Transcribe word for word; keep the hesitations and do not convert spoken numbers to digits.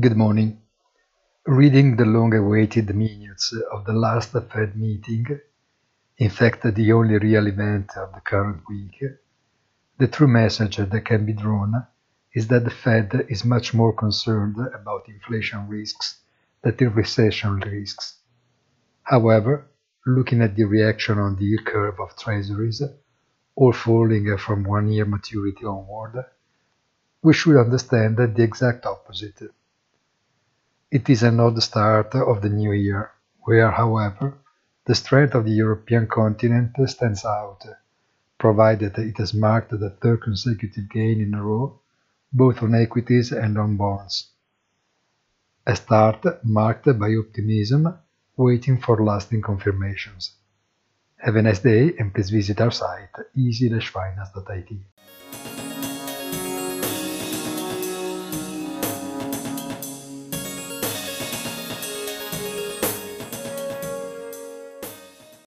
Good morning. Reading the long-awaited minutes of the last Fed meeting, in fact the only real event of the current week, the true message that can be drawn is that the Fed is much more concerned about inflation risks than the recession risks. However, looking at the reaction on the yield curve of treasuries, all falling from one-year maturity onward, we should understand the exact opposite. It is an odd start of the new year, where, however, the strength of the European continent stands out, provided it has marked the third consecutive gain in a row, both on equities and on bonds. A start marked by optimism, waiting for lasting confirmations. Have a nice day and please visit our site easy dash finance dot I T.